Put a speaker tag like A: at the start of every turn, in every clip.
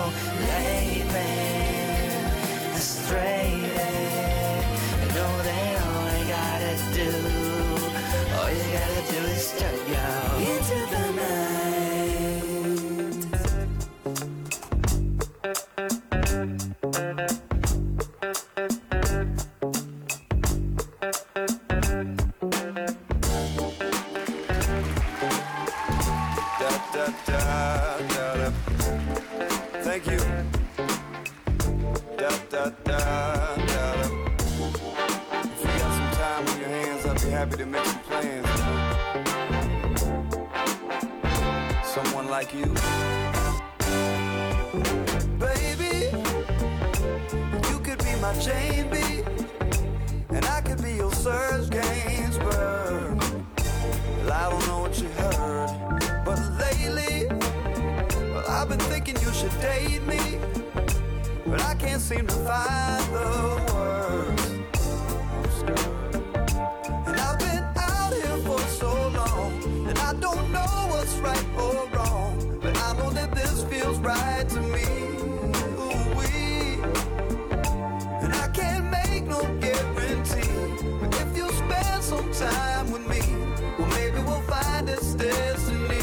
A: Late man, frustrated. I know that all I gotta do, all you gotta do is turn you into the night.
B: Thank you. If you got some time on your hands, I'd be happy to make some plans. Someone like you, baby. You could be my Jane B, and I could be your Serge Gainsbourg. Well, I don't know what you heard, but lately, well, I've been thinking you should date me, but I can't seem to find the words. And I've been out here for so long, and I don't know what's right or wrong, but I know that this feels right to me. Ooh-wee. And I can't make no guarantee, but if you spend some time with me, well, maybe we'll find this destiny.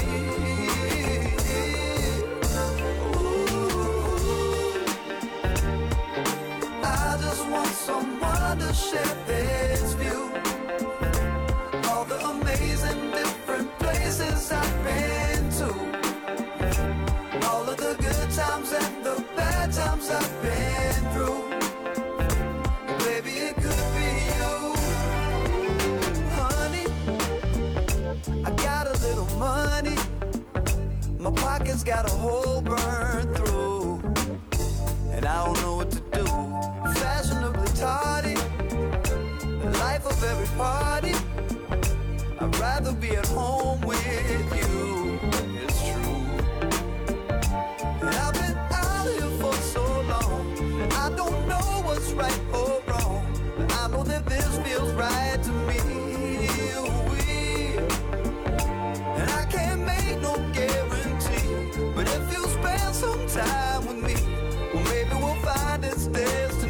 B: Someone to share this view, all the amazing different places I've been to, all of the good times and the bad times I've been through. Baby, it could be you, honey. I got a little money, my pocket's got a hole burned through, and I don't know what to do. Fashionably tardy, the life of every party. I'd rather be at home with you, it's true. And I've been out here for so long, and I don't know what's right or wrong, but I know that this feels right to me. And I can't make no guarantee, but if you spend some time with me, well, maybe we'll find this destiny.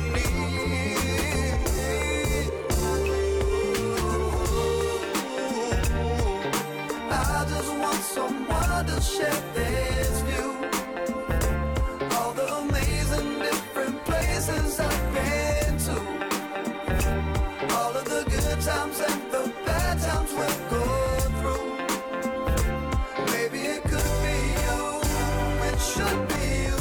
B: I just want someone to share this view, all the amazing different places I've been to, all of the good times and the bad times we've gone through. Maybe it could be you, it should be you.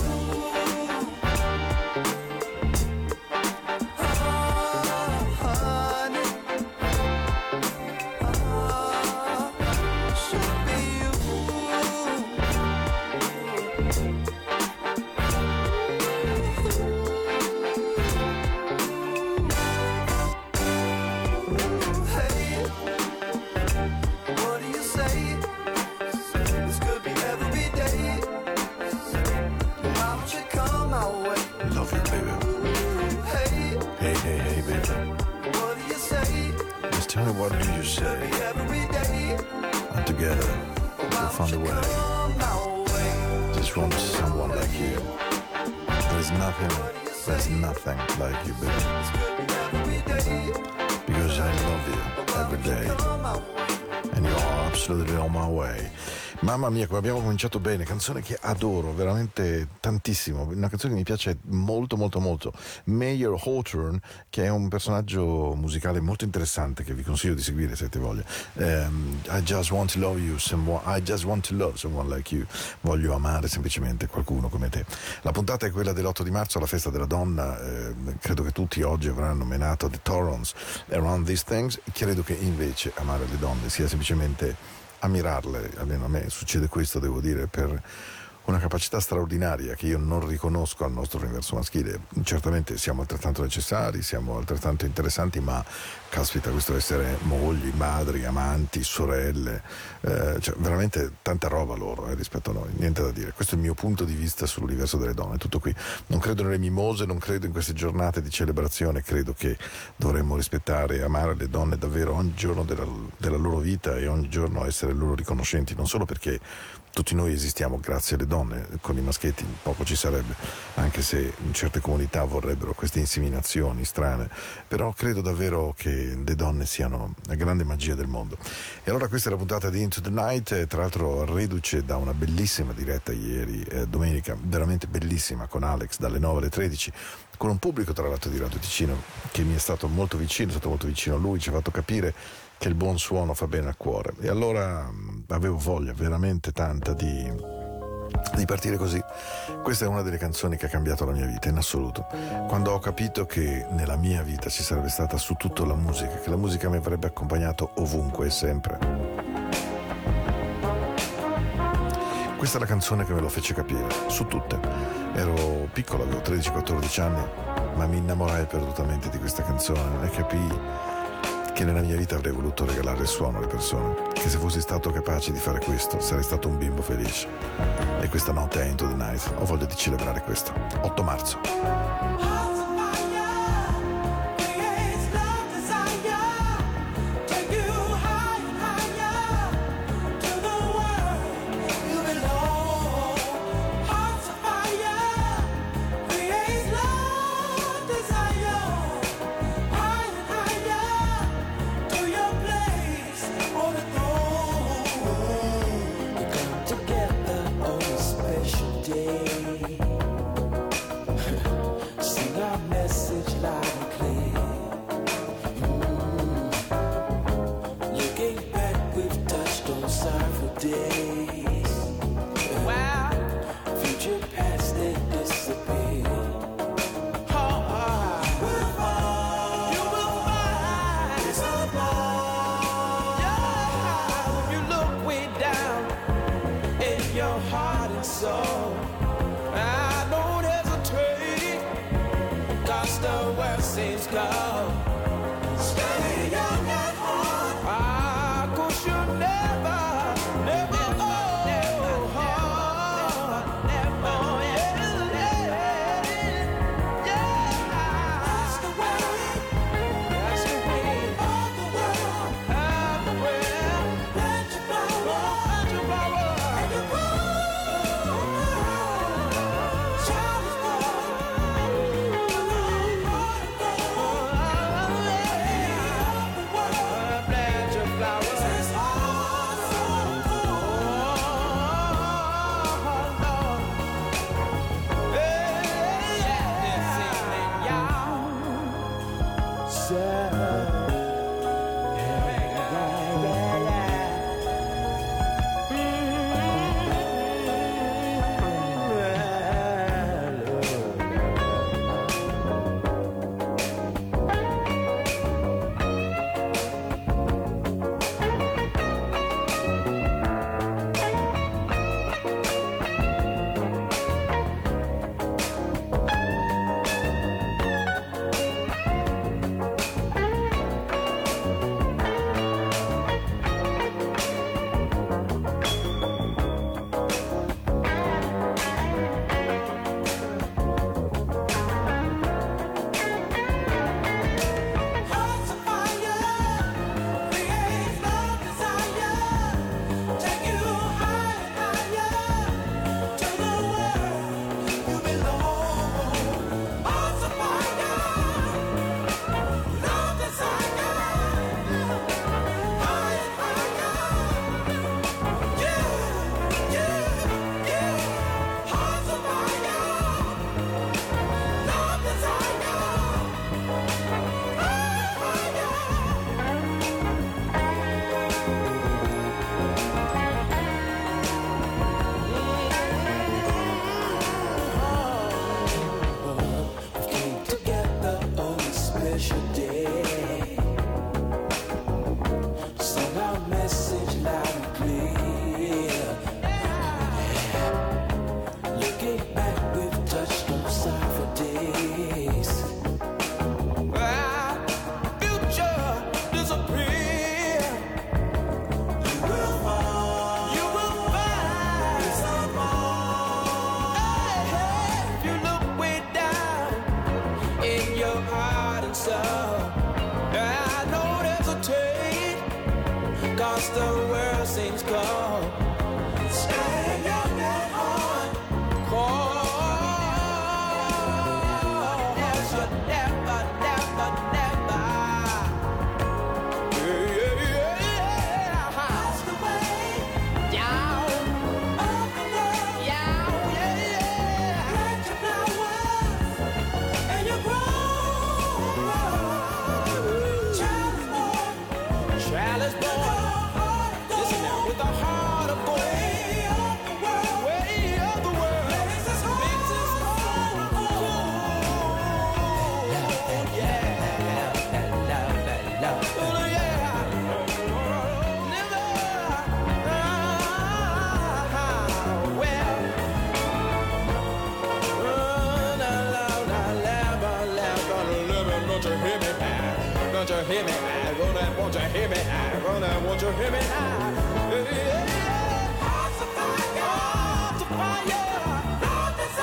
C: What do you say? And together we'll find a way. Just want someone like you. There's nothing like you, baby. Because I love you every day, and you are absolutely on my way. Mamma mia, come abbiamo cominciato bene, canzone che adoro veramente tantissimo, una canzone che mi piace molto molto molto. Mayer Hawthorne, che è un personaggio musicale molto interessante che vi consiglio di seguire se avete voglia. I just want to love you, I just want to love someone like you. Voglio amare semplicemente qualcuno come te. La puntata è quella dell'8 di marzo, la festa della donna. Credo che tutti oggi avranno menato The Torrents, Around These Things. Credo che invece amare le donne sia semplicemente ammirarle, almeno a me succede questo, devo dire, per una capacità straordinaria che io non riconosco al nostro universo maschile. Certamente siamo altrettanto necessari, siamo altrettanto interessanti, ma caspita, questo essere mogli, madri, amanti, sorelle, cioè veramente tanta roba loro rispetto a noi, niente da dire. Questo è il mio punto di vista sull'universo delle donne, tutto qui. Non credo nelle mimose, non credo in queste giornate di celebrazione, credo che dovremmo rispettare e amare le donne davvero ogni giorno della loro vita e ogni giorno essere loro riconoscenti, non solo perché tutti noi esistiamo grazie alle donne, con i maschietti poco ci sarebbe, anche se in certe comunità vorrebbero queste inseminazioni strane, però credo davvero che le donne siano la grande magia del mondo. E allora questa è la puntata di Into the Night, tra l'altro reduce da una bellissima diretta ieri, domenica, veramente bellissima, con Alex dalle 9 alle 13, con un pubblico tra l'altro di Radio Ticino che mi è stato molto vicino, a lui, ci ha fatto capire che il buon suono fa bene al cuore, e allora avevo voglia veramente tanta di partire così. Questa è una delle canzoni che ha cambiato la mia vita in assoluto, quando ho capito che nella mia vita ci sarebbe stata su tutto la musica, che la musica mi avrebbe accompagnato ovunque e sempre. Questa è la canzone che me lo fece capire, su tutte. Ero piccolo, avevo 13-14 anni, ma mi innamorai perdutamente di questa canzone e capii che nella mia vita avrei voluto regalare il suono alle persone, che se fossi stato capace di fare questo sarei stato un bimbo felice. E questa notte è Into the Night, ho voglia di celebrare questo 8 marzo.
D: won't you hear me? I'm gonna, won't you hear me? I'm gonna, won't you hear me now? Hearts of fire, hearts of fire, hearts of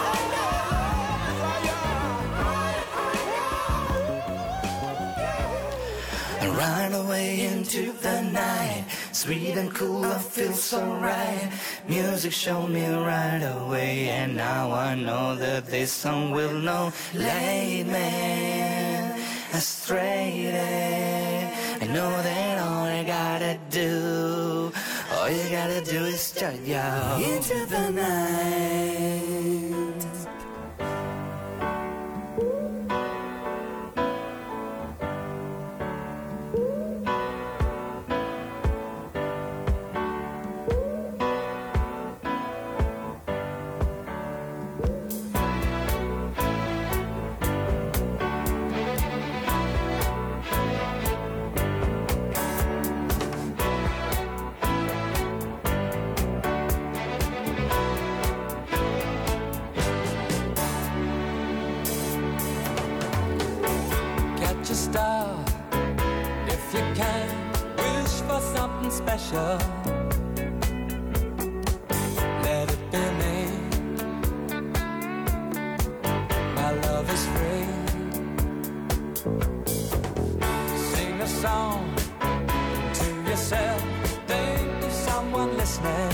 A: fire. Run away into the night, sweet and cool, I feel so right. Music showed me right away, and now I know that this song will know. Lead me astray. I know that all you gotta do is start out into the night.
E: Special, let it be me. My love is free. Sing a song to yourself. Think of someone listening.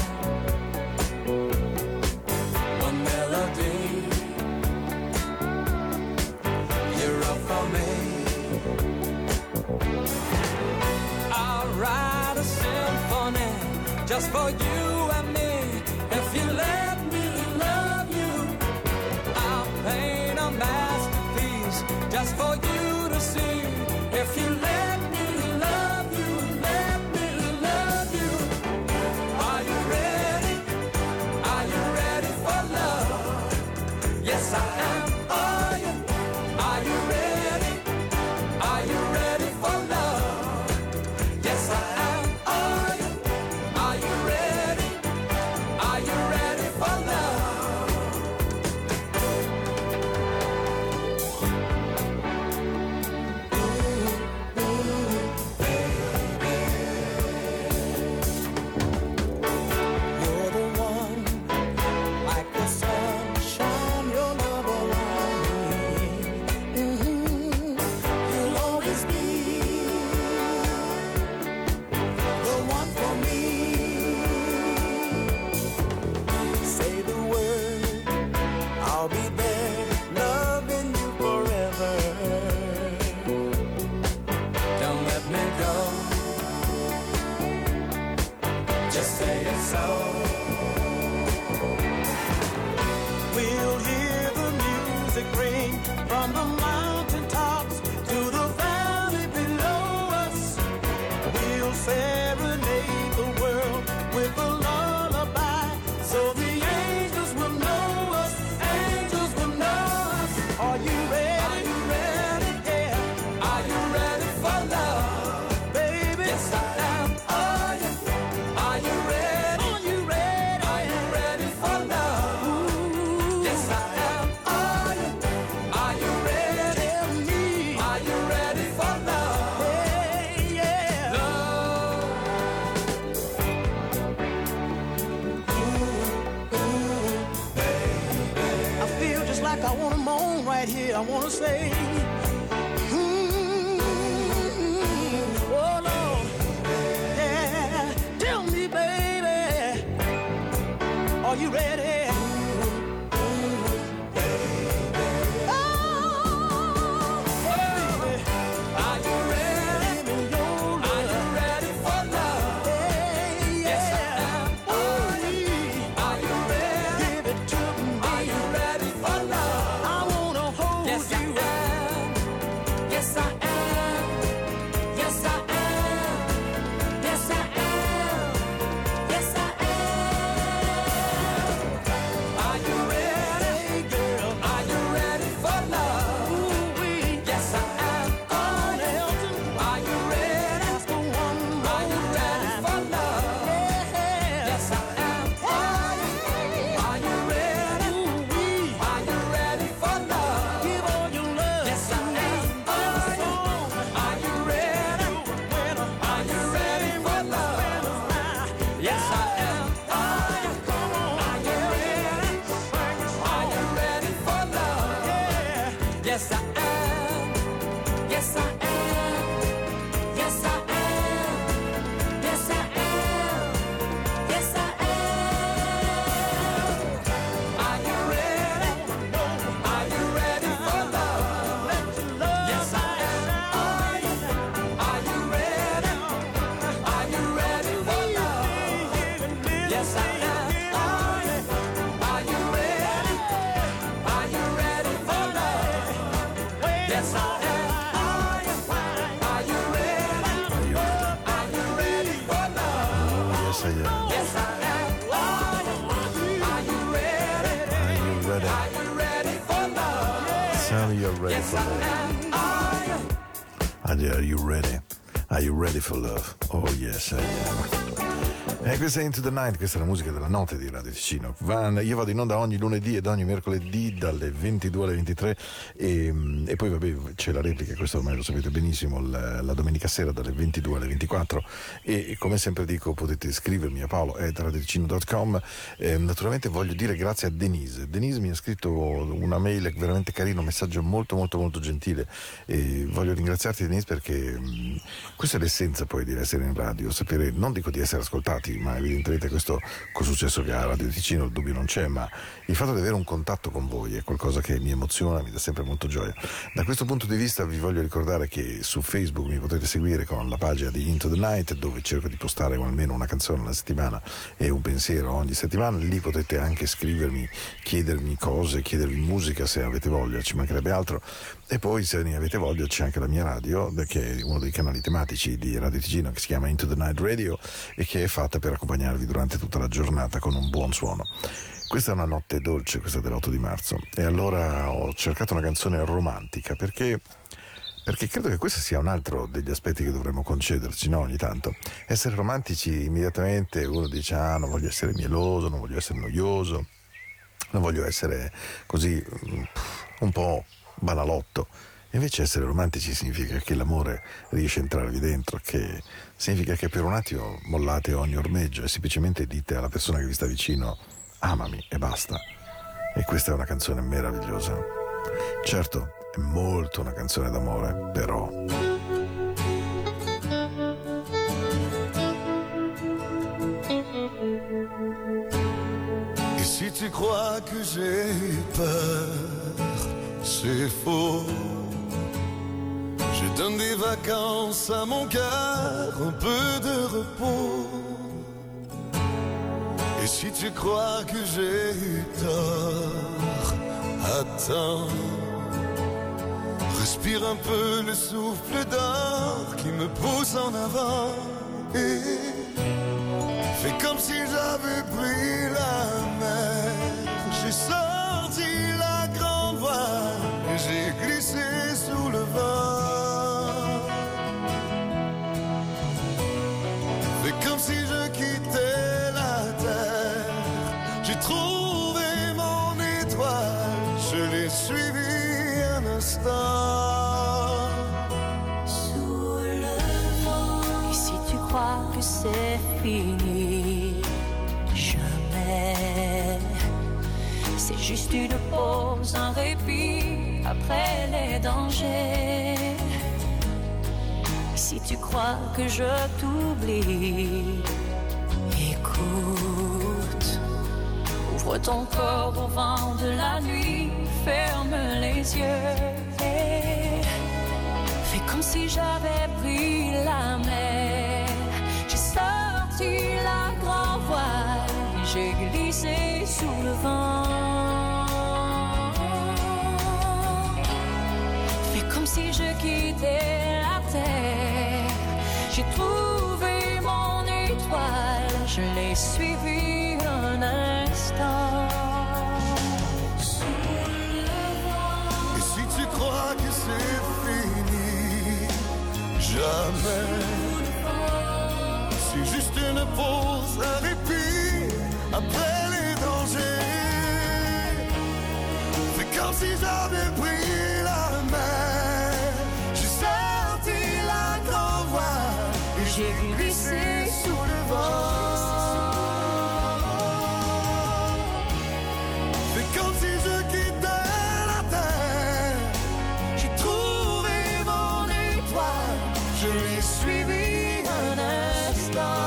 E: One melody, you're up for me. I'll write a symphony just for you and me. If you let me love you, I'll paint a masterpiece just for you to see. If you let me love you, let me love you. Are you ready? Are you ready for love? Yes, I am. Are you? Are you ready? Are you ready for love? Yes, I am. Are you? Are you ready? Are you ready for love? You're the one, like the sunshine, your love around me. You'll always be the one for me. Say the word, I'll be there, loving you forever. Don't let me go. Just say it's so. We'll hear the music ring from the mountain tops to the valley below us. We'll serenade the world with a lullaby, so the angels will know us. Angels will know us. Are you ready? Are you ready? Yeah. Are you ready for love, baby? Yes, I am. Are you? Are you ready? Are you ready? Are you ready for love? Yes, I am. Are you? Are you ready? Tell me. Are you ready for love? Hey, yeah. Love. I feel just like I want to moan right here. I want to say, oh Lord, yeah. Tell me, baby, are you ready? Oh, baby, are you ready? Are you ready for love? Yes, I am. Are you ready? Give it to me. Are you ready for love? I wanna hold you. Yes, I am. Yes, I am. Yes, I am. Yes, I am. Yes, I am. Are you ready? Are you ready for love?
C: Yes, I am.
E: Yes, I am. Are you ready?
C: Are you ready?
E: Are you ready for love?
C: Tell me you're ready for love. Are you ready? Are you ready for love? Oh yes, I am. E questa è Into the Night, questa è la musica della notte di Radio Ticino. Io vado in onda ogni lunedì ed ogni mercoledì dalle 22 alle 23 e poi vabbè c'è la replica, questo ormai lo sapete benissimo, la domenica sera dalle 22 alle 24 e come sempre dico potete scrivermi a paolo@radioticino.com. Naturalmente voglio dire grazie a Denise. Denise mi ha scritto una mail veramente carina, un messaggio molto molto molto gentile e voglio ringraziarti Denise perché questa è l'essenza poi di essere in radio, sapere, non dico di essere ascoltati, ma evidentemente questo col successo che ha Radio Ticino il dubbio non c'è, ma il fatto di avere un contatto con voi è qualcosa che mi emoziona, mi dà sempre molto gioia. Da questo punto di vista vi voglio ricordare che su Facebook mi potete seguire con la pagina di Into the Night, dove cerco di postare almeno una canzone alla settimana e un pensiero ogni settimana. Lì potete anche scrivermi, chiedermi cose, chiedermi musica se avete voglia, ci mancherebbe altro. E poi se ne avete voglia c'è anche la mia radio, che è uno dei canali tematici di Radio Ticino, che si chiama Into the Night Radio e che è fatta per accompagnarvi durante tutta la giornata con un buon suono. Questa è una notte dolce, questa dell'8 di marzo, e allora ho cercato una canzone romantica perché credo che questo sia un altro degli aspetti che dovremmo concederci, no? Ogni tanto essere romantici, immediatamente uno dice non voglio essere mieloso, non voglio essere noioso, non voglio essere così un po' banalotto. Invece essere romantici significa che l'amore riesce a entrarvi dentro, che significa che per un attimo mollate ogni ormeggio e semplicemente dite alla persona che vi sta vicino amami e basta. E questa è una canzone meravigliosa. Certo, è molto una canzone d'amore, però
B: Et si tu crois que j'ai peur, c'est faux. Je donne des vacances à mon cœur, un peu de repos. Et si tu crois que j'ai eu tort, attends. Respire un peu le souffle d'or qui me pousse en avant. Et fais comme si j'avais pris la mer. J'ai sorti la grande voile et j'ai glissé sous le vent. Fais comme si je quittais la terre. J'ai trouvé mon étoile, je l'ai suivi un instant.
F: Sous le vent. Et si tu crois que c'est fini, jamais. C'est juste une pause, un répit après les dangers. Si tu crois que je t'oublie, écoute. Ouvre ton corps au vent de la nuit, ferme les yeux et fais comme si j'avais pris la mer. J'ai sorti la grand voile, j'ai glissé sous le vent. Fais comme si je quittais la terre. J'ai trouvé mon étoile, je l'ai suivi un instant.
B: Et si tu crois que c'est fini, jamais. C'est juste une pause, un répit après les dangers. Fais comme si j'avais pris la mer. J'ai sorti la grande voile et j'ai glissé sous le vent. Fais comme si je quittais la terre. J'ai trouvé mon étoile, je l'ai suivi un instant.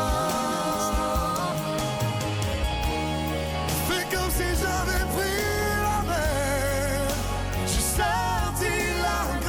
B: Fais comme si j'avais pris la mer. J'ai sorti la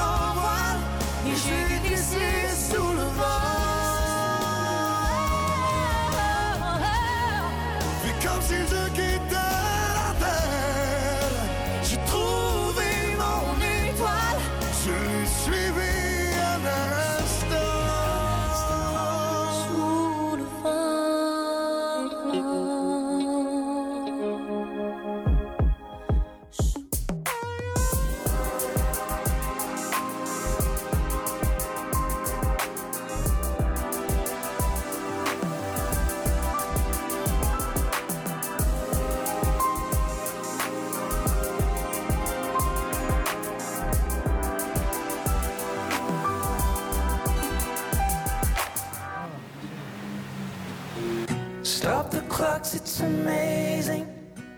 A: rocks, it's amazing.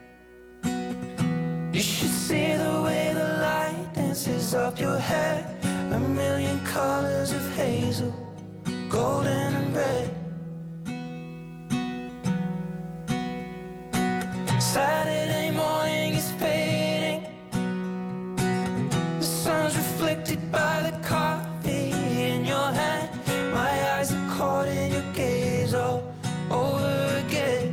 A: You should see the way the light dances up your hair. A million colors of hazel, golden and red. Saturday morning is fading. The sun's reflected by the coffee in your hand. My eyes are caught in your gaze all over again.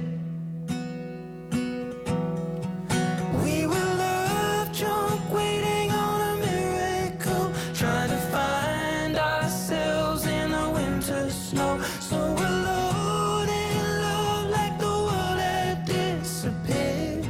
A: We were love drunk, waiting on a miracle, trying to find ourselves in the winter snow. So alone in love, like the world had disappeared.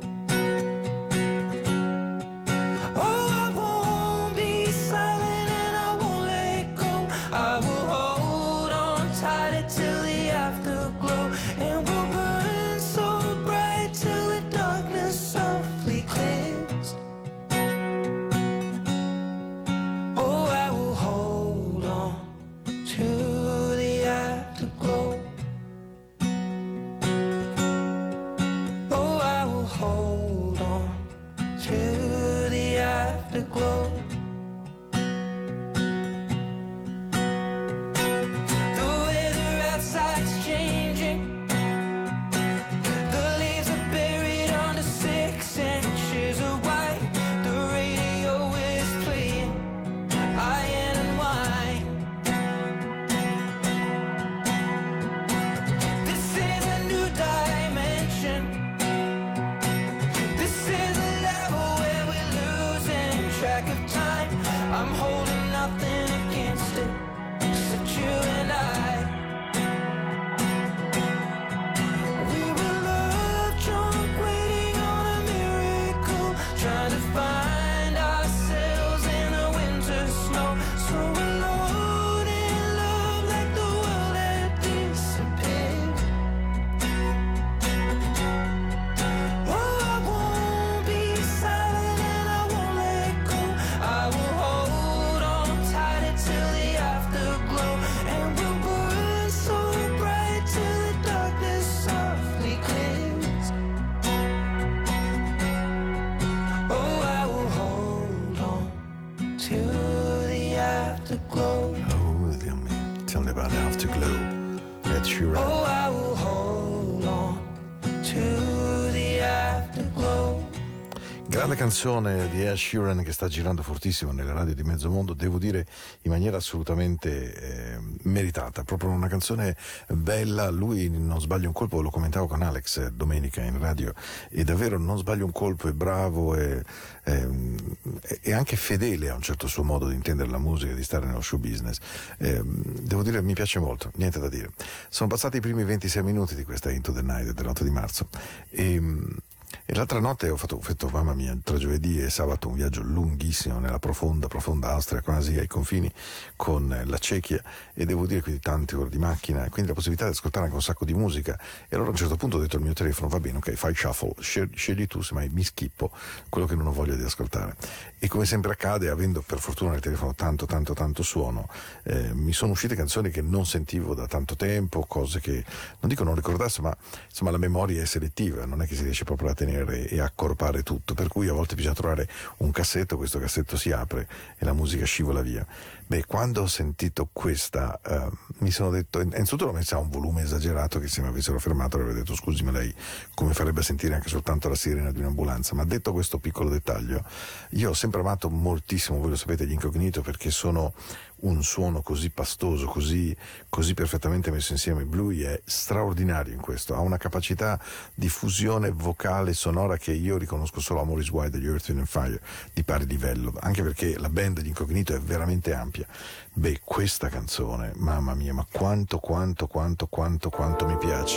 A: Oh, I won't be silent and I won't let go. I will hold on tight till the afterglow, and we'll burn so bright till the darkness softly clears. Oh, I will hold on to the afterglow. Oh, I will hold on to the afterglow. The weather outside's changing. The leaves are buried under 6 inches of white. The radio is playing iron and wine. This is a new dimension. This is a level where we're losing track of time. I'm holding nothing against it, except you and I. We were love drunk, waiting on a miracle, trying to find ourselves in the winter snow. So alone in love, like the world had disappeared. Oh, I won't be silent and I won't let go. I will hold on tight till the afterglow, and we'll burn so bright till the darkness softly clears. Oh, I will hold on to the afterglow.
C: Oh, Dio mio. Tell me about Afterglow. Ed Sheeran.
A: Oh, I will hold on to the afterglow.
C: Grande canzone di Ed Sheeran che sta girando fortissimo nelle radio di mezzo mondo, devo dire in maniera assolutamente meritata, proprio una canzone bella. Lui non sbaglia un colpo, lo commentavo con Alex domenica in radio, e davvero non sbaglia un colpo, è bravo e anche fedele a un certo suo modo di intendere la musica e di stare nello show business. Devo dire mi piace molto, niente da dire. Sono passati i primi 26 minuti di questa Into the Night dell'8 di marzo e l'altra notte ho fatto, mamma mia, tra giovedì e sabato un viaggio lunghissimo nella profonda Austria, quasi ai confini con la Cechia, e devo dire quindi tante ore di macchina e quindi la possibilità di ascoltare anche un sacco di musica. E allora a un certo punto ho detto al mio telefono: va bene, ok, fai shuffle, scegli tu, semmai mi schippo quello che non ho voglia di ascoltare. E come sempre accade, avendo per fortuna nel telefono tanto suono, mi sono uscite canzoni che non sentivo da tanto tempo, cose che non dico non ricordassi, ma insomma la memoria è selettiva, non è che si riesce proprio a tenere e accorpare tutto, per cui a volte bisogna trovare un cassetto, questo cassetto si apre e la musica scivola via. Beh, quando ho sentito questa mi sono detto, innanzitutto l'ho messa a un volume esagerato, che se mi avessero fermato avrei detto scusi, ma lei come farebbe a sentire anche soltanto la sirena di un'ambulanza? Ma detto questo piccolo dettaglio, io ho sempre amato moltissimo, voi lo sapete, gli Incognito, perché sono un suono così pastoso, così perfettamente messo insieme. Bluey è straordinario in questo, ha una capacità di fusione vocale sonora che io riconosco solo a Maurice White degli Earth, Wind & Fire, di pari livello, anche perché la band di Incognito è veramente ampia. Beh, questa canzone, mamma mia, ma quanto mi piace.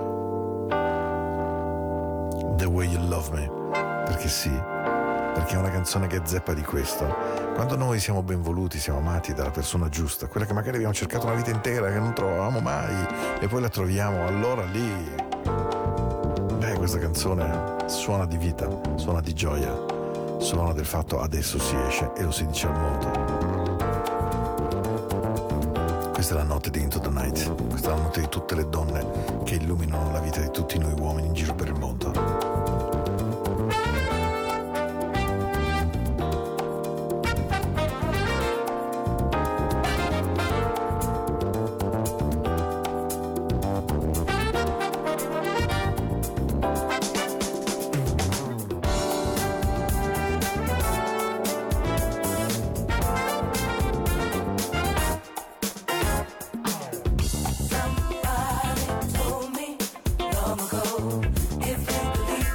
C: The Way You Love Me, perché sì, perché è una canzone che zeppa di questo. Quando noi siamo ben voluti, siamo amati dalla persona giusta, quella che magari abbiamo cercato una vita intera, che non trovavamo mai, e poi la troviamo, allora lì, beh, questa canzone suona di vita, suona di gioia, suona del fatto adesso si esce e lo si dice al mondo. Questa è la notte di Into the Night, questa è la notte di tutte le donne che illuminano la vita di tutti noi uomini in giro per il mondo.
G: Somebody told me long ago, if you believe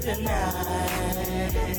A: tonight.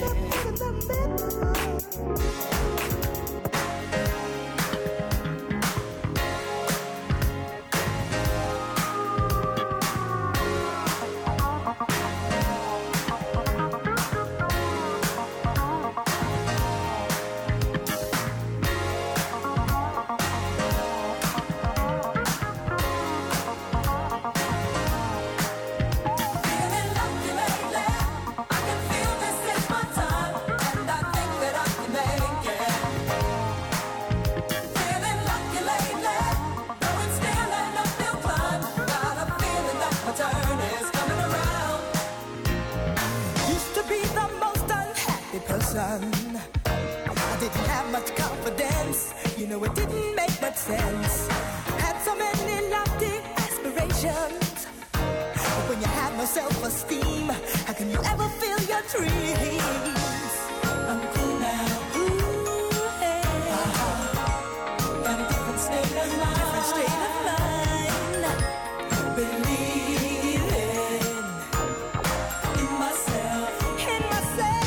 G: I didn't have much confidence, you know, it didn't make much sense. Had so many lofty aspirations, but when you have no self-esteem, how can you ever feel your dreams? I'm cool now, ooh, hey. Got a different state of mind, different state of mind. Believing in myself, in myself.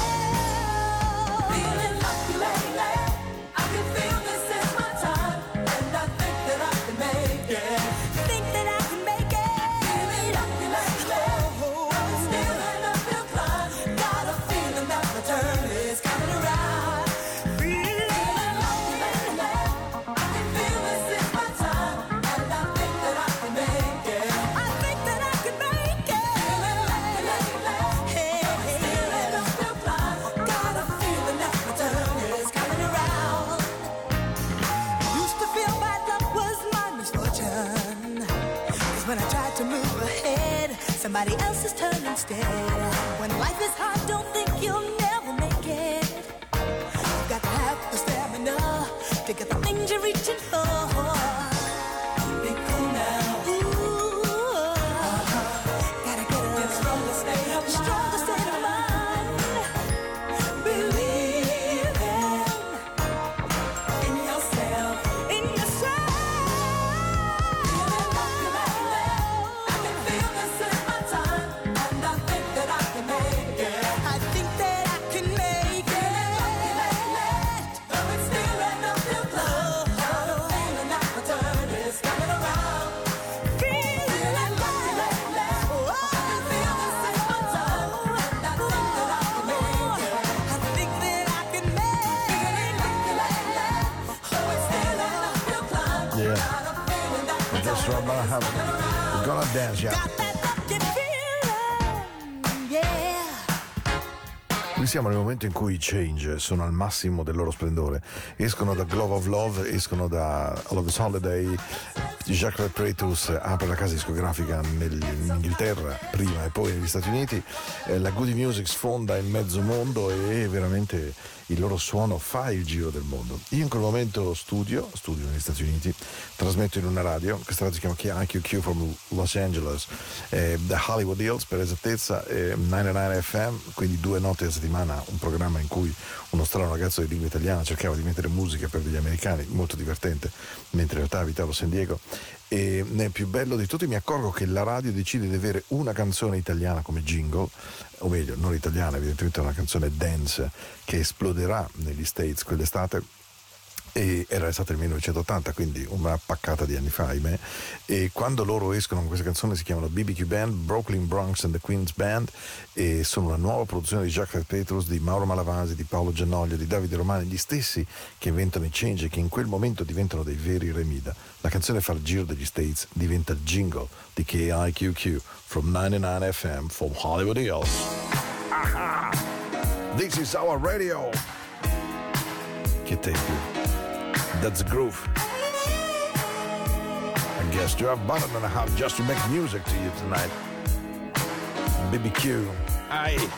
G: Somebody else's turn instead. When life is hard, don't think you'll never make it. You've got to have the stamina to get the things you're reaching for. Be cool now. Ooh, gotta get a stronger state of mind. Stronger state of mind. Believe in yourself. In yourself.
C: We're gonna dance, yeah. Qui siamo nel momento in cui i Change sono al massimo del loro splendore. Escono da Glove of Love, escono da All of Us Holiday. Jacques Pretus apre la casa discografica in Inghilterra prima e poi negli Stati Uniti. La Goody Music sfonda il mezzo mondo e veramente il loro suono fa il giro del mondo. Io in quel momento studio negli Stati Uniti, trasmetto in una radio, questa radio si chiama IQQ from Los Angeles, da Hollywood Hills per esattezza, 99 FM, quindi 2 notti a settimana, un programma in cui uno strano ragazzo di lingua italiana cercava di mettere musica per degli americani, molto divertente, mentre in realtà abitavo a San Diego. E nel più bello di tutti mi accorgo che la radio decide di avere una canzone italiana come jingle, o meglio, non italiana, evidentemente una canzone dance che esploderà negli States quell'estate, e era stato il 1980, quindi una paccata di anni fa, ahimè. E quando loro escono con questa canzone si chiamano BBQ Band, Brooklyn Bronx and the Queens Band, e sono una nuova produzione di Jacques Petrus, di Mauro Malavasi, di Paolo Giannoglio, di Davide Romani, gli stessi che inventano i Change e che in quel momento diventano dei veri Remida. La canzone fa il giro degli States, diventa il jingle di KIQQ from 99 FM from Hollywood Hills. Aha! This is our radio. Che tempo. That's the groove. I guess you have button and a half just to make music to you tonight. BBQ. Aye.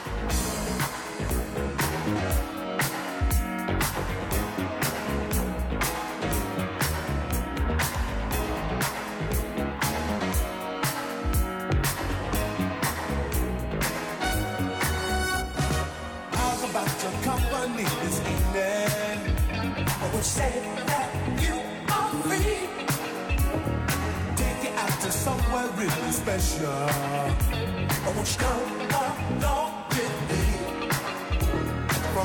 E: How's about your company this evening? Which say that you are free. Take you out to somewhere really special. I want you to come along with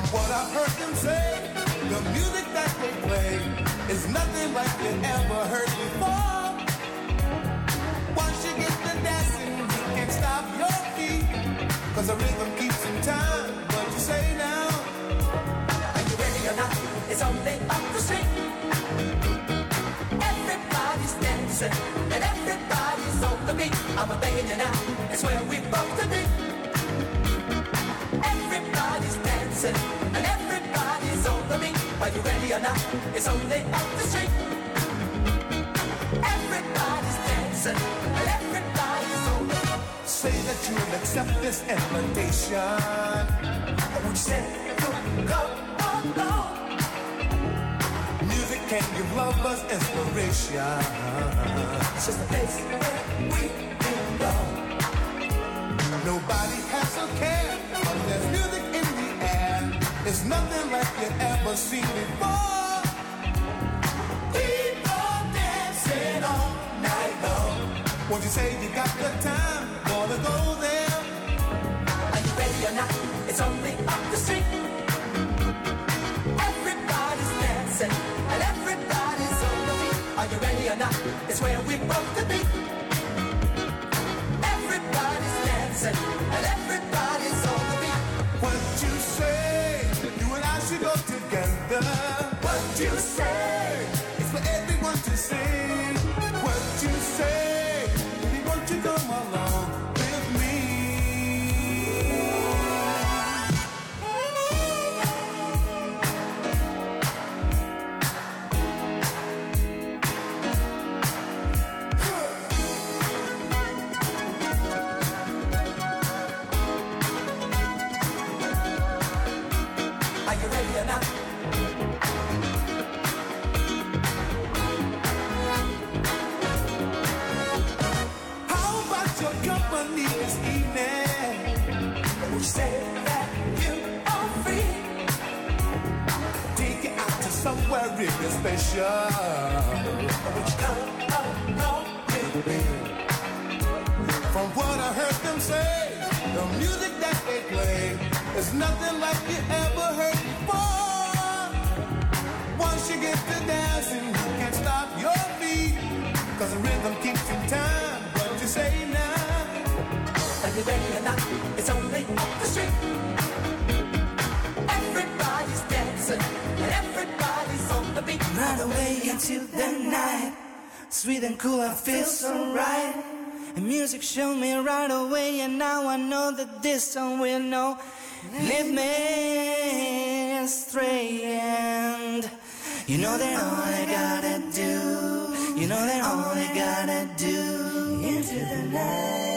H: what I've heard them say, the music that they play is nothing like you ever heard before. Once you get the dancing, you can't stop your feet, 'cause the rhythm keeps in time. What you say now?
G: Are you ready or not? It's only up the street. Everybody's dancing and everybody's on the beat. I'm begging you now, it's where we both to be. Everybody's dancing and everybody's on the beat. Are you ready or not? It's only up the street. Everybody's dancing and everybody's on the beat.
H: Say that you'll accept this invitation.
G: Would you say go along?
H: Music can give lovers inspiration.
G: It's just a place where we belong.
H: Nobody has a care, but there's music in the air. It's nothing like you ever seen before.
G: People dancing all night long.
H: Won't you say you got the time? Wanna go there?
G: Are you ready or not? It's only up the street. Everybody's dancing and everybody's on the beat. Are you ready or not? It's where we broke the beat. Everybody's dancing and everybody's on the beat.
H: What you say? You and I should go together.
G: What you say?
H: It's for everyone to see. What you say? Baby, won't you come along with me?
G: Are you ready or not?
H: How about your company this evening?
G: Would you say that you are free?
H: Take it out to somewhere really special.
G: Would you come along with me?
H: From what I heard them say, the music that they play is nothing like you ever heard before. Once you get to dancing, you can't stop your feet, 'cause the rhythm keeps in time. What you say now?
G: Are you ready or not? It's only up the street. Everybody's dancing and everybody's on the beat.
A: Right away into the night, sweet and cool, I feel so right. And music showed me right away, and now I know that this song will know. Lead me astray, and you know that all I gotta do, you know that all I gotta do, into the night.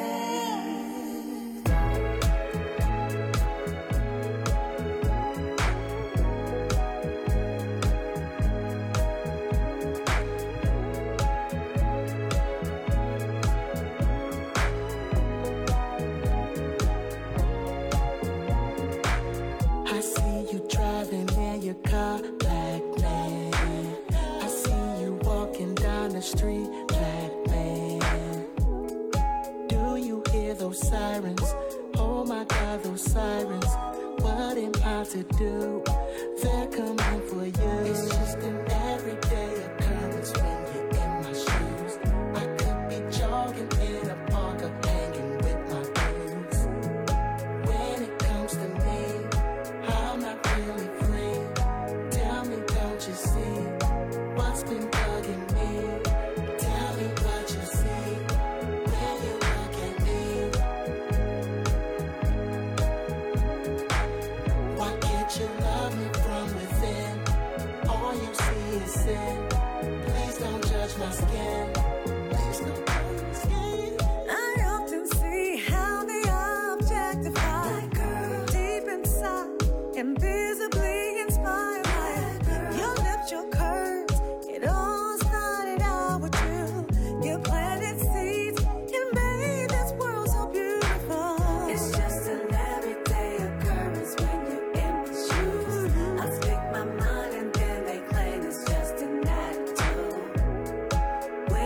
E: I see you driving in your car, black man. I see you walking down the street, black man. Do you hear those sirens? Oh my God, those sirens. What am I to do? They're coming for you. It's just an everyday occurrence when you're in my shoes. I could be jogging in a park or hanging with my boots. When it comes to me, I'm not really free. Tell me, don't you see what's been bugging me? Tell me what you see when you look at me. Why can't you love me from within? All you see is sin. Please don't judge my skin. Please don't judge my skin.
I: I often see how they objectify that girl deep inside, invisibly inspired by your lips, your curves. It all started out with you. You planted seeds and made this world so beautiful. It's just an everyday occurrence when you're in my shoes. I speak my mind and then they claim it's just an attitude.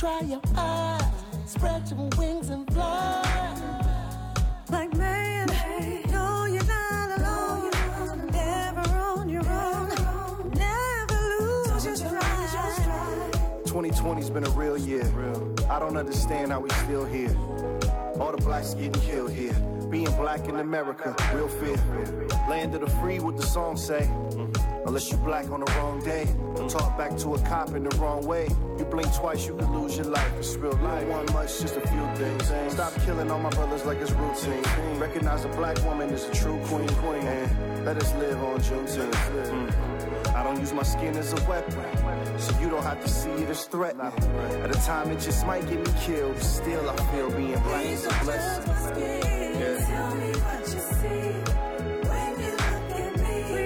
J: dry your eyes, spread your wings and fly.
I: Like man, no, you're not alone. Never on your own. Never lose your stride.
K: 2020's been a real year. I don't understand how we still here. All the blacks getting killed here. Being black in America, real fear. Land of the free, what the song say. Unless you black on the wrong day. Talk back to a cop in the wrong way. You blink twice, you could lose your life. It's real life. One much, just a few things. Stop killing all my brothers like it's routine. Recognize a black woman is a true queen. And let us live on Juneteenth. I don't use my skin as a weapon, so you don't have to see it as threatening. At a time it just might get me killed. Still I feel being black is a blessing.
I: Tell me what you see when you look at me.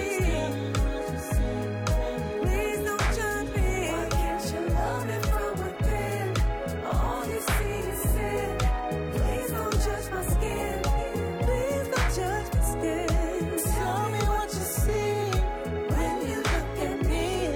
I: Please don't judge me. Why can't you love me from within? All you see is sin. Please don't judge my skin. Please don't judge my skin. Tell me what you see when you look at me.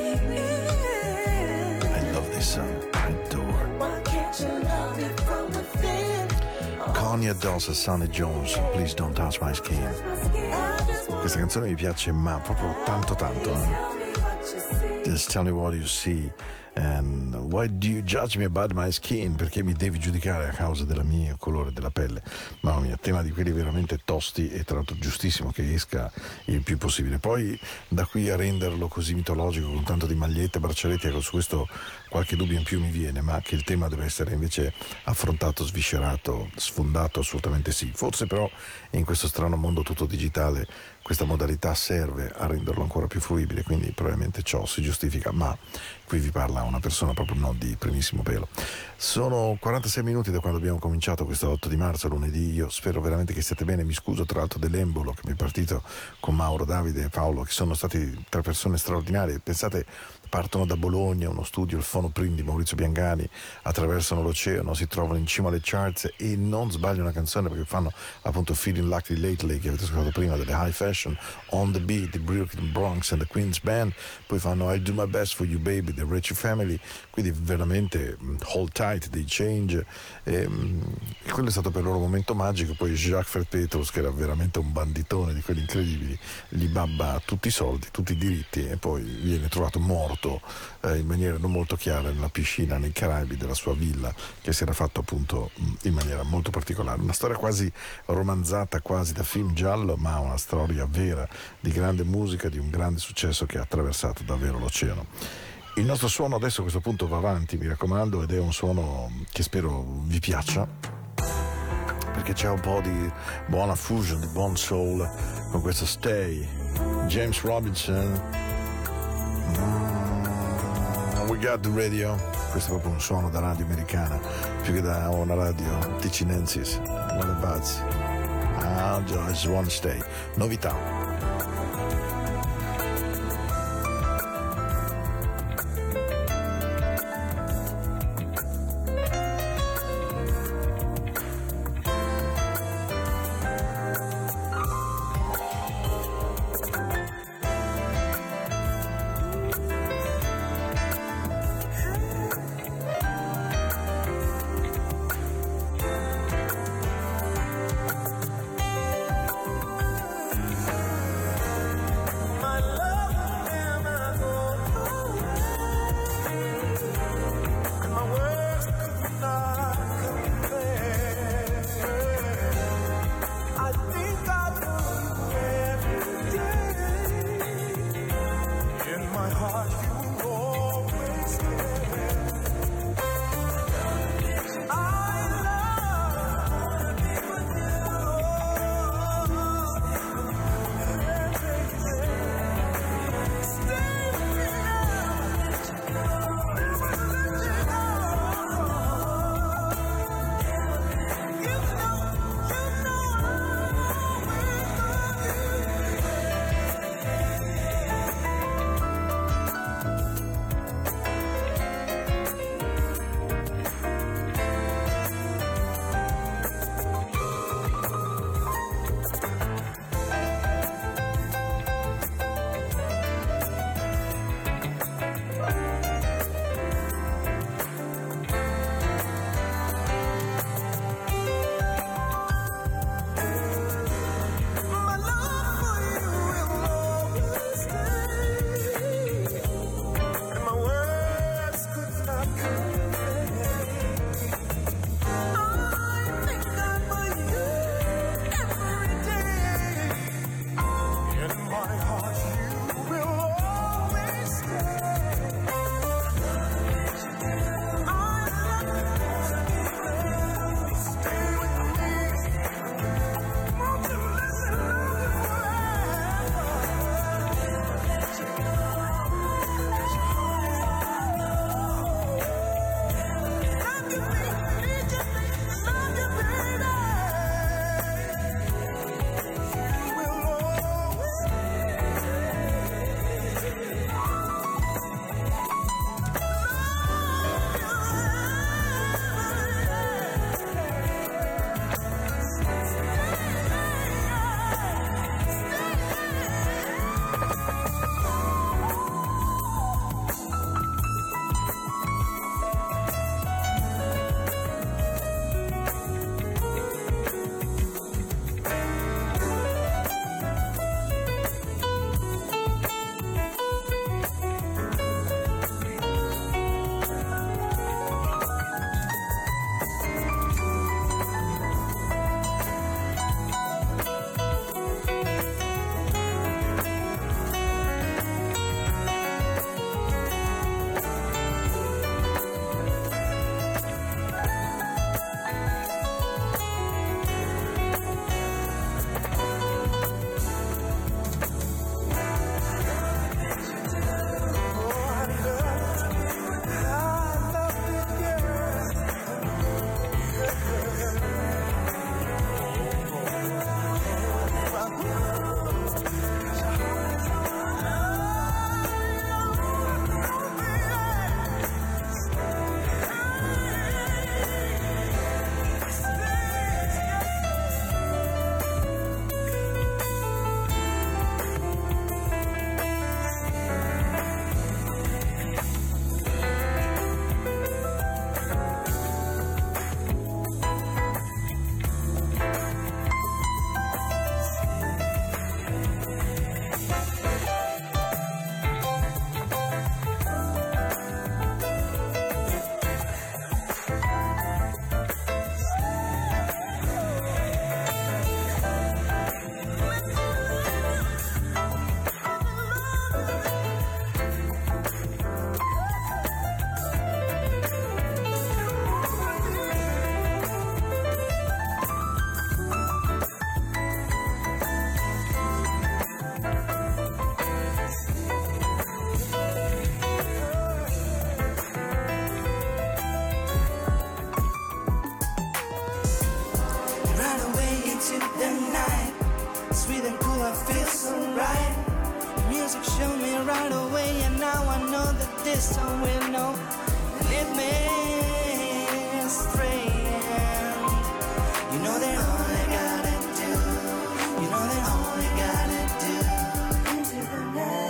C: I love this song. I adore.
I: Why can't you love me from within?
C: Kanye Doss e Sonny Jones, Please Don't Touch My Skin. Questa canzone mi piace, ma proprio tanto tanto. Just tell me what you see. And why do you judge me about my skin? Perché mi devi giudicare a causa del mio colore della pelle? Mamma mia, tema di quelli veramente tosti, e tra l'altro giustissimo che esca il più possibile. Poi da qui a renderlo così mitologico con tanto di magliette, braccialetti, ecco, su questo qualche dubbio in più mi viene, ma che il tema deve essere invece affrontato, sviscerato, sfondato, assolutamente sì. Forse però in questo strano mondo tutto digitale questa modalità serve a renderlo ancora più fruibile, quindi probabilmente ciò si giustifica, ma qui vi parla una persona proprio non di primissimo pelo. Sono 46 minuti da quando abbiamo cominciato questo 8 di marzo, lunedì. Io spero veramente che stiate bene. Mi scuso tra l'altro dell'embolo che mi è partito con Mauro, Davide e Paolo, che sono stati tre persone straordinarie. Pensate, partono da Bologna, uno studio, il Fono Print di Maurizio Biangani, attraversano l'oceano, si trovano in cima alle charts e non sbagliano una canzone, perché fanno appunto Feeling Lucky Lately, che avete ascoltato prima, delle High Fashion, On the Beat, the Brooklyn Bronx and the Queen's Band, poi fanno I Do My Best for You Baby, the Richie Family, quindi veramente Hold Tight dei Change, e quello è stato per loro un momento magico. Poi Jacques Fred Petrus, che era veramente un banditone di quelli incredibili, gli babba tutti i soldi, tutti i diritti, e poi viene trovato morto in maniera non molto chiara nella piscina nei Caraibi della sua villa, che si era fatto appunto in maniera molto particolare. Una storia quasi romanzata, quasi da film giallo, ma una storia vera di grande musica, di un grande successo che ha attraversato davvero l'oceano. Il nostro suono adesso a questo punto va avanti, mi raccomando, ed è un suono che spero vi piaccia, perché c'è un po' di buona fusion, di buon soul con questo Stay, James Robinson. We got the radio. Questo è proprio un suono da radio americana, più che da una radio ticinensis. What a buzz. I just wanna stay. Novità.
A: this song will know, and it may stray. You know that all I gotta do, you know that all I gotta do into the night.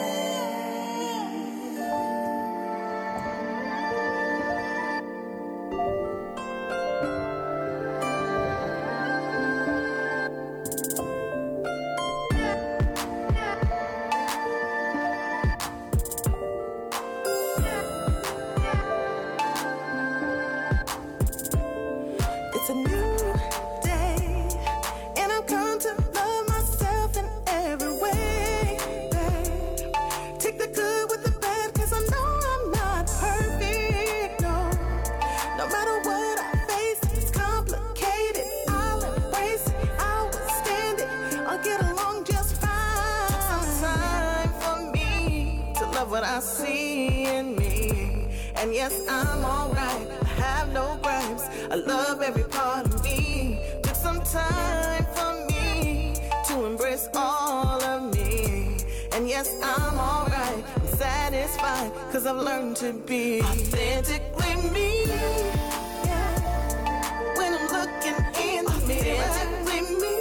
I: It's a new day, and I've come to love myself in every way, babe. Take the good with the bad, 'cause I know I'm not perfect, no. No matter what I face, it's complicated, I'll embrace it, I'll withstand it, I'll get along just fine. Take some time for me to love what I see in me, and yes, I'm alright, I have no gripes, I love every part of me. Took some time for me to embrace all of me, and yes, I'm alright, I'm satisfied, 'cause I've learned to be authentically me. Yeah. When I'm looking in the mirror, authentically me.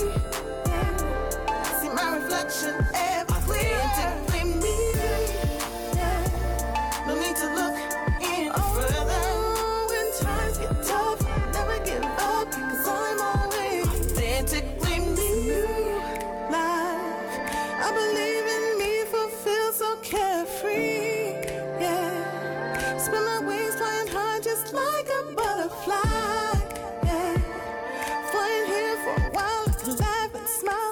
I: Yeah. See my reflection ever clear, authentically me. Yeah. No need to look any further. When times get tough, never give up, 'cause I'm always authentically me. Life, I believe in me, fulfilled, so carefree. Yeah, spin my wings, flying high, just like a butterfly. Yeah, flying here for a while, I can laugh and smile.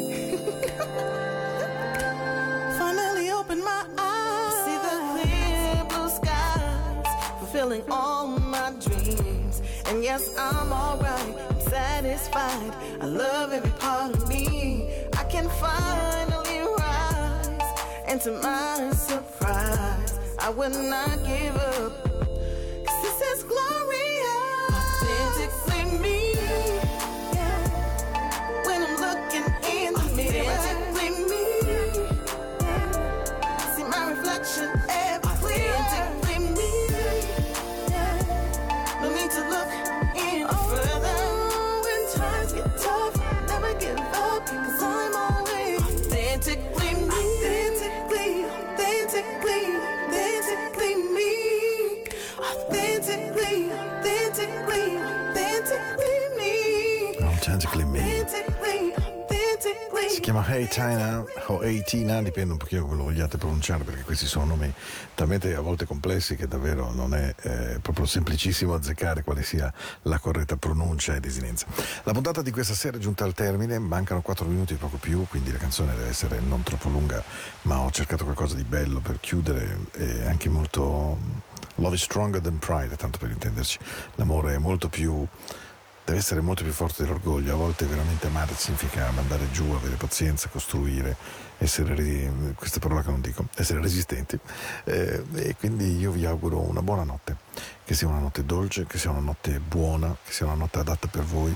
I: Finally open my eyes, see the clear blue skies, fulfilling all my dreams. And yes, I'm alright, I'm satisfied, I love every part of me. I can finally rise, and to my surprise, I will not give up, 'cause this is glorious. Authentically me. Yeah. When I'm looking in the mirror, authentically me. Yeah. See my reflection ever clear, authentically me. Yeah. No need to look any further. When times get tough, never give up, 'cause I'm always authentically me. Authentically, authentically, authentically me. Authentically, authentically, authentically me.
C: Authentically me.
I: Authentically, authentically.
C: Si chiama Hey Tina o Hey Tina, dipende un pochino come lo vogliate pronunciare, perché questi sono nomi talmente a volte complessi che davvero non è proprio semplicissimo azzeccare quale sia la corretta pronuncia e desinenza. La puntata di questa sera è giunta al termine, mancano 4 minuti poco più, quindi la canzone deve essere non troppo lunga, ma ho cercato qualcosa di bello per chiudere e anche molto... Love is stronger than pride, tanto per intenderci. L'amore è molto più... deve essere molto più forte dell'orgoglio. A volte veramente amare significa mandare giù, avere pazienza, costruire, essere, questa parola che non dico, essere resistenti, e quindi io vi auguro una buona notte, che sia una notte dolce, che sia una notte buona, che sia una notte adatta per voi.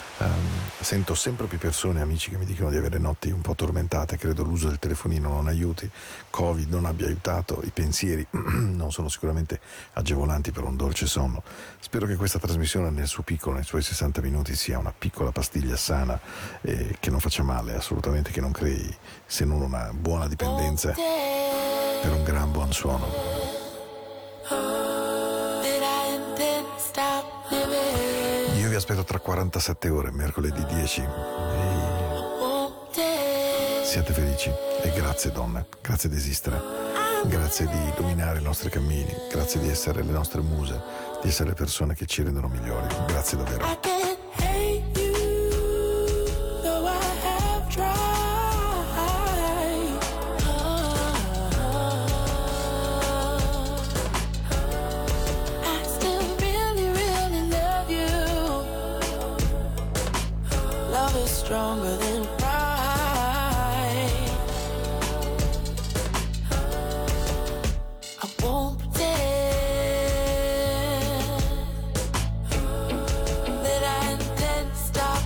C: Sento sempre più persone, amici, che mi dicono di avere notti un po' tormentate. Credo l'uso del telefonino non aiuti, Covid non abbia aiutato, i pensieri non sono sicuramente agevolanti per un dolce sonno. Spero che questa trasmissione nel suo piccolo, nei suoi 60 minuti, sia una piccola pastiglia sana, che non faccia male assolutamente, che non crei se non una buona dipendenza per un gran buon suono. Io vi aspetto tra 47 ore, mercoledì 10. Siate felici e grazie donne, grazie di esistere, grazie di illuminare i nostri cammini, grazie di essere le nostre muse, di essere le persone che ci rendono migliori. Grazie davvero.
F: Stronger than pride. I won't pretend that I intend to stop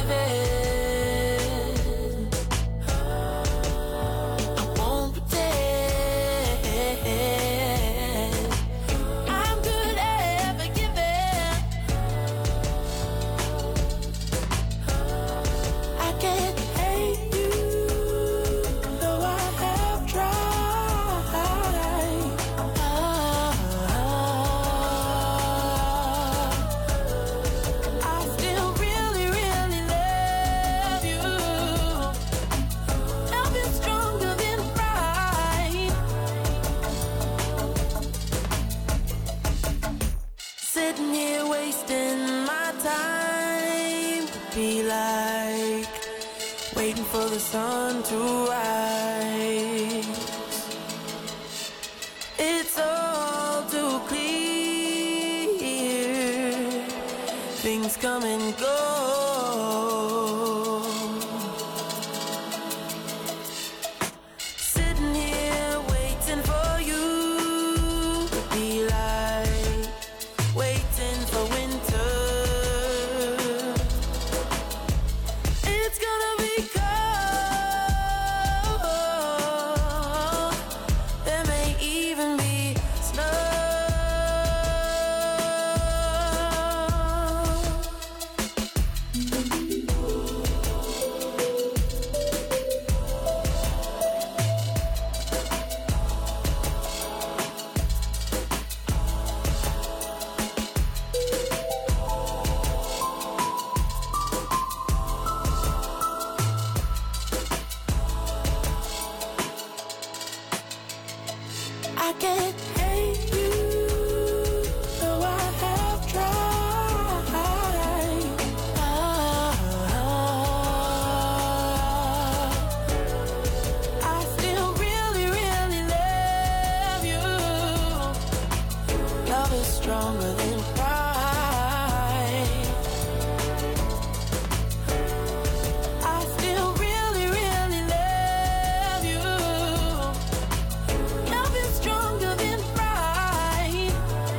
F: living. I won't pretend
L: Sitting here wasting my time would be like waiting for the sun to rise. It's all too clear, things come and go. Sitting here waiting for you would be like waiting for winter. It's gonna be cold, there may even be snow. I can't hate you, though I have tried. I still really, really love you. Love is stronger than pride. I still really, really love you. Love is stronger than pride.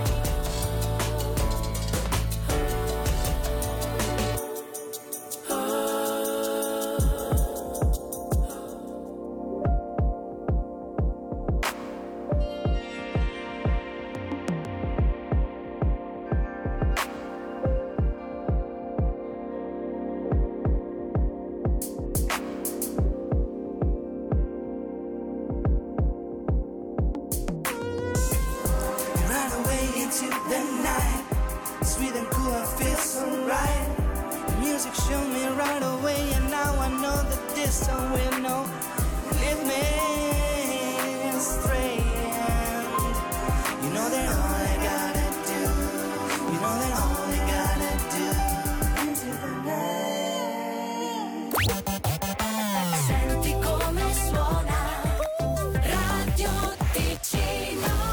A: Right away into the night, sweet and cool, I feel so right. The music showed me right away, and now I know that this song will know. Lead me astray, and you know that all I gotta do, you know that all I gotta do into the night.